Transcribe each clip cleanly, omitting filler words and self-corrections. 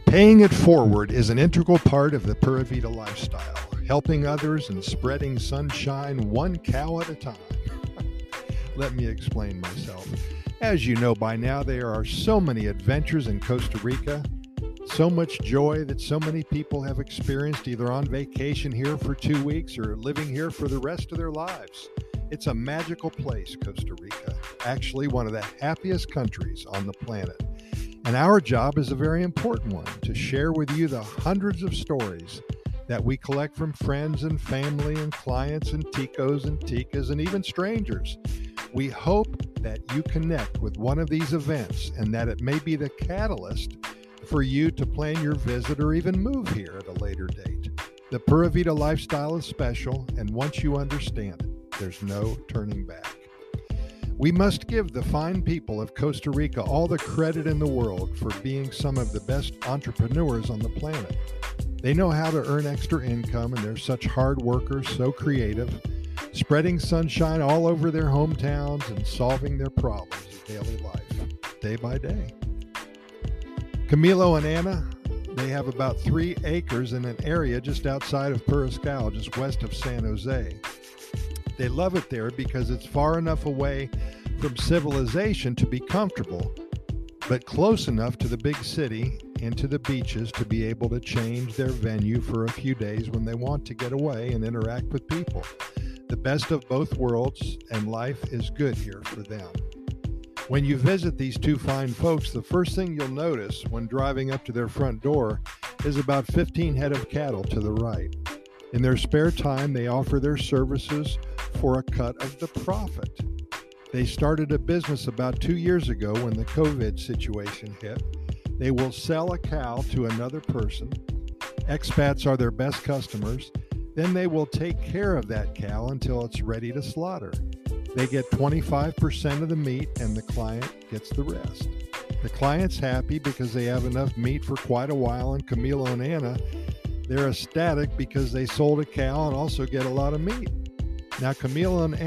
Paying it forward is an integral part of the Pura Vida lifestyle, helping others and spreading sunshine one cow at a time. Let me explain myself. As you know by now, there are so many adventures in Costa Rica, so much joy that so many people have experienced either on vacation here for 2 weeks or living here for the rest of their lives. It's a magical place, Costa Rica, actually one of the happiest countries on the planet. And our job is a very important one, to share with you the hundreds of stories that we collect from friends and family and clients and ticos and ticas and even strangers. We hope that you connect with one of these events and that it may be the catalyst for you to plan your visit or even move here at a later date. The Pura Vida lifestyle is special, and once you understand it, there's no turning back. We must give the fine people of Costa Rica all the credit in the world for being some of the best entrepreneurs on the planet. They know how to earn extra income, and they're such hard workers, so creative, spreading sunshine all over their hometowns and solving their problems of daily life, day by day. Camilo and Anna, they have about 3 acres in an area just outside of Puriscal, just west of San Jose. They love it there because it's far enough away from civilization to be comfortable, but close enough to the big city and to the beaches to be able to change their venue for a few days when they want to get away and interact with people. The best of both worlds, and life is good here for them. When you visit these 2 fine folks, the first thing you'll notice when driving up to their front door is about 15 head of cattle to the right. In their spare time, they offer their services for a cut of the profit. They started a business about 2 years ago when the COVID situation hit. They will sell a cow to another person. Expats are their best customers. Then they will take care of that cow until it's ready to slaughter. They get 25% of the meat and the client gets the rest. The client's happy because they have enough meat for quite a while, and Camilo and Anna, they're ecstatic because they sold a cow and also get a lot of meat. Now, Camilo and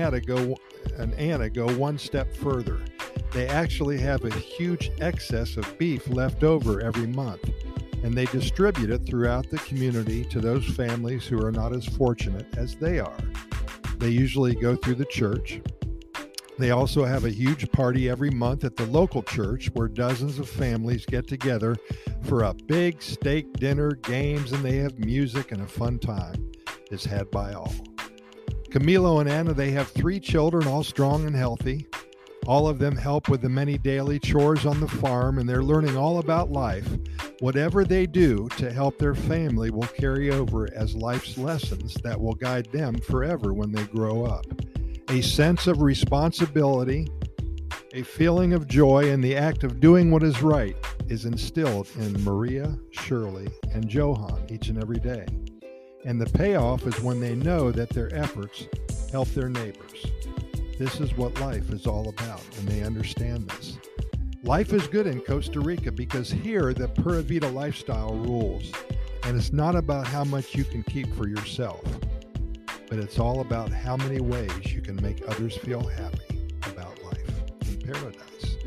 Anna go one step further. They actually have a huge excess of beef left over every month, and they distribute it throughout the community to those families who are not as fortunate as they are. They usually go through the church. They also have a huge party every month at the local church where dozens of families get together for a big steak dinner, games, and they have music, and a fun time is had by all. Camilo and Anna, they have 3 children, all strong and healthy. All of them help with the many daily chores on the farm, and they're learning all about life. Whatever they do to help their family will carry over as life's lessons that will guide them forever when they grow up. A sense of responsibility, a feeling of joy, and the act of doing what is right is instilled in Maria, Shirley, and Johan each and every day. And the payoff is when they know that their efforts help their neighbors. This is what life is all about, and they understand this. Life is good in Costa Rica because here the Pura Vida lifestyle rules. And it's not about how much you can keep for yourself, but it's all about how many ways you can make others feel happy about life in paradise.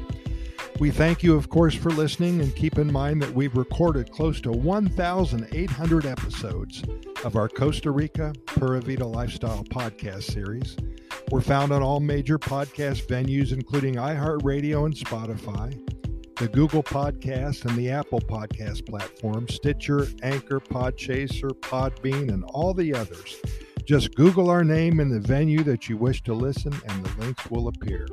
We thank you, of course, for listening, and keep in mind that we've recorded close to 1,800 episodes of our Costa Rica Pura Vida Lifestyle podcast series. We're found on all major podcast venues, including iHeartRadio and Spotify, the Google Podcast and the Apple Podcast platform, Stitcher, Anchor, Podchaser, Podbean, and all the others. Just Google our name and the venue that you wish to listen, and the links will appear.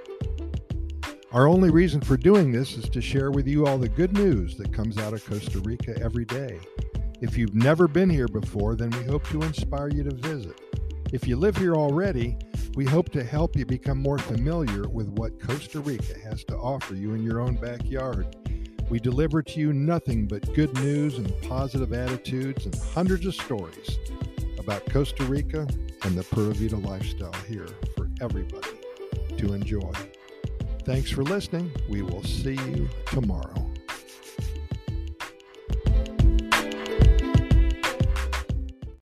Our only reason for doing this is to share with you all the good news that comes out of Costa Rica every day. If you've never been here before, then we hope to inspire you to visit. If you live here already, we hope to help you become more familiar with what Costa Rica has to offer you in your own backyard. We deliver to you nothing but good news and positive attitudes and hundreds of stories about Costa Rica and the Pura Vida lifestyle here for everybody to enjoy. Thanks for listening. We will see you tomorrow.